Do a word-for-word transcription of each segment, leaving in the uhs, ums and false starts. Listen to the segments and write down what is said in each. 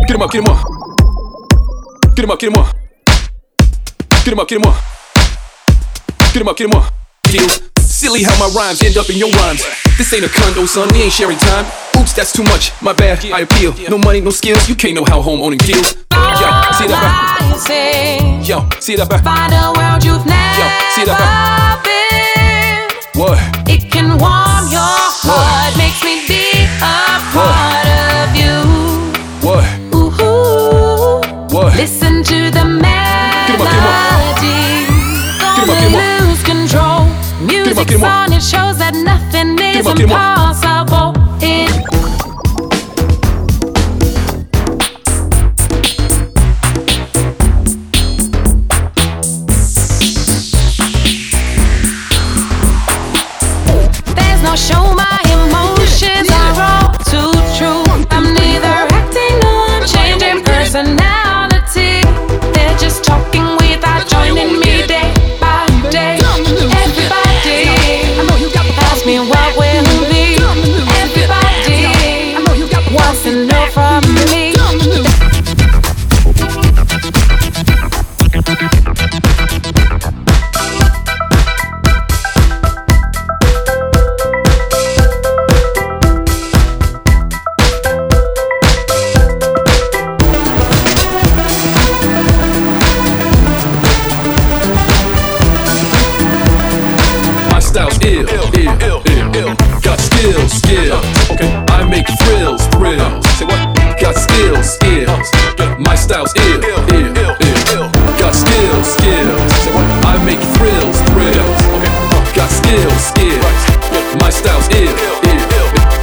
Get him up, get him up. Get him up, get him up. Get him up, get him up. Get him up, get him up. Feels silly how my rhymes end up in your rhymes. This ain't a condo, son, we ain't sharing time. Oops, that's too much, my bad, I appeal. No money, no skills, you can't know how home owning feels. Yo, see that back? Yo, see that back? Find a world you've never Yo, see that back? been. What? It can warm your heart, makes me be a part of you. What? Ooh, what? Listen to the melody. Get him up, get him up. Don't lose control. Music's on, it shows that nothing is impossible. It There's no show, my emotions are all too true. I'm neither acting nor changing personality. They're just talking without joining me day by day. Everybody, ask me what will be. Everybody wants to know from me. Style's ill, ill, ill, ill, ill. Got skills, skills. Okay, I make thrills, thrills. Say what? Got skills, skills. My style's ill, ill, ill, ill. Got skills, skills. Say what? I make thrills, thrills. Okay, got skills, skills. My style's ill, ill, ill.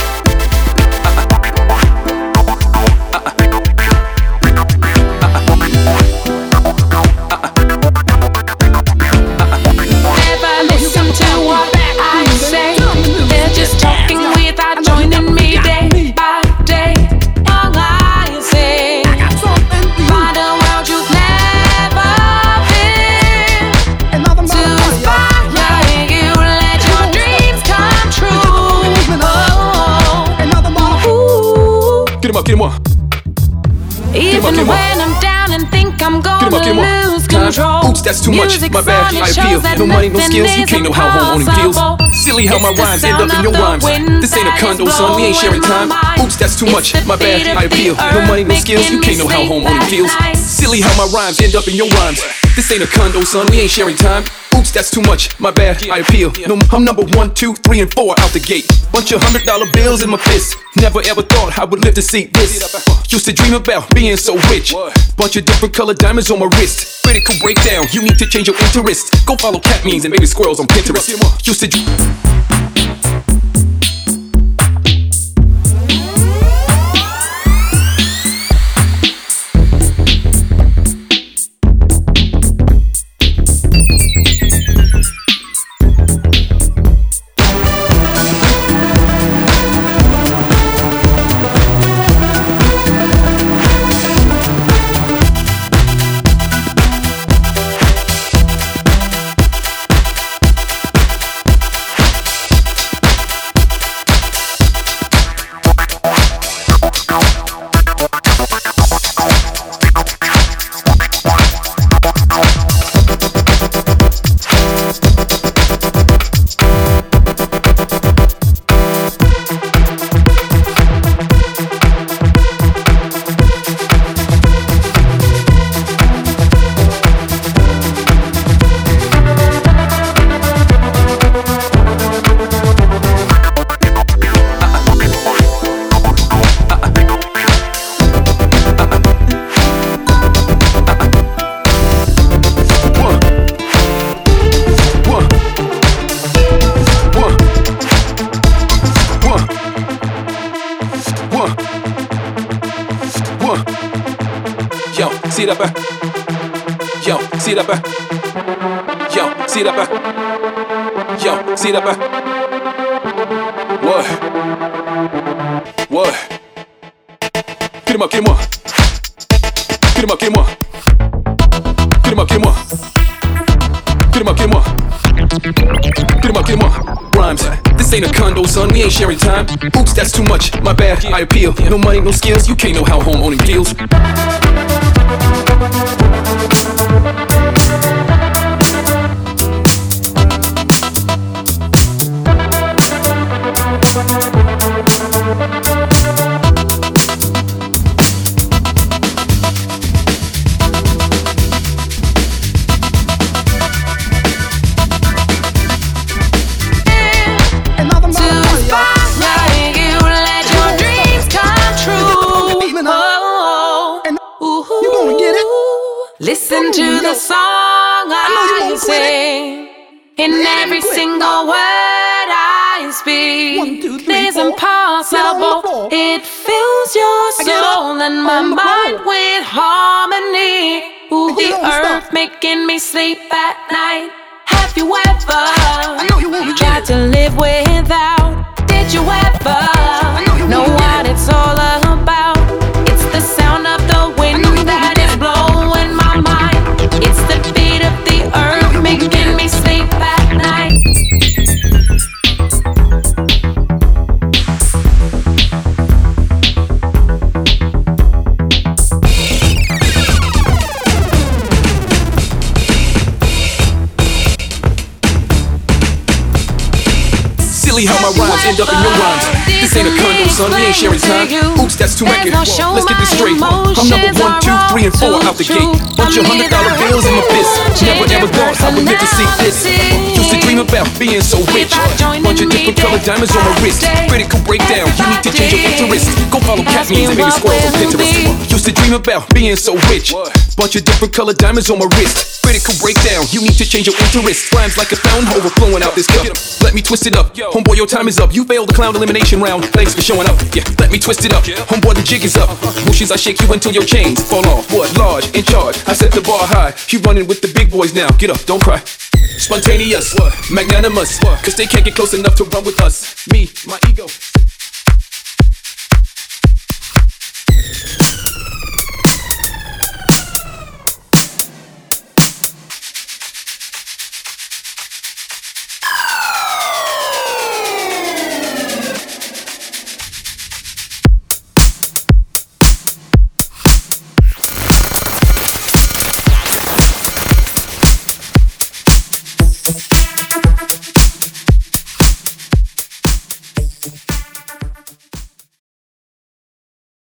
Get him up. Even get him up. when I'm down and think I'm gonna Get him up, get him up. lose control. Oops, that's too much, my bad, I appeal. No money, no skills, you can't know how home owning feels. Silly how my rhymes end up in your rhymes. This ain't a condo, son, we ain't sharing time. Oops, that's too much, my bad, I appeal. No money, no skills, you can't know how home owning feels. Silly how my rhymes end up in your rhymes. This ain't a condo, son, we ain't sharing time. Oops, that's too much, my bad, I appeal. No, I'm number one, two, three, and four out the gate. Bunch of hundred dollar bills in my fist. Never ever thought I would live to see this. Used to dream about being so rich. Bunch of different colored diamonds on my wrist. Critical breakdown, you need to change your interest. Go follow cat memes and baby squirrels on Pinterest. Used to dream. Yo, see that back? Yo, see that back? Yo, see that back? Yo, see that back? What? What? Get him up, get him up. Get him up, get him up. Get him up, get him up. Get him up, get him up. Get him up, get him up. Rhymes. This ain't a condo, son, we ain't sharing time. Oops, that's too much, my bad, I appeal. No money, no skills, you can't know how home owning feels. Listen to the song I sing, in every single word I speak. It's impossible. It fills your soul and my mind with harmony. Ooh, the earth making me sleep at night. Have you ever tried to live without? Did you ever know what it's all about? It's the sound of the wind that is blowing my mind. It's the beat of the earth making me sleep at night. Silly how my rhymes end up in your rhymes. This ain't a condo, son, we ain't sharing time. Oops, that's too record. Let's get this straight. I'm number one, two, three, and four out the gate. Bunch of hundred dollar bills in my fist. Never ever thought I would live to see this. Used to dream about being so rich. Bunch of different colored diamonds on my wrist. Critical breakdown, you need to change your interest. Go follow cat memes and baby squirrels on Pinterest. Used to dream about being so rich. Bunch of different colored diamonds on my wrist. Critical breakdown, you need to change your interest. Rhymes like a fountain overflowing out this cup. Let me twist it up, homeboy, your time is up. You failed the clown elimination round. Thanks for showing up. Yeah, let me twist it up. Homeboy, the jig is up. Bushes, I shake you until your chains fall off. What? Large, in charge. I set the bar high. She running with the big boys now. Get up, don't cry. Spontaneous, magnanimous, cause they can't get close enough to run with us. Me, my ego.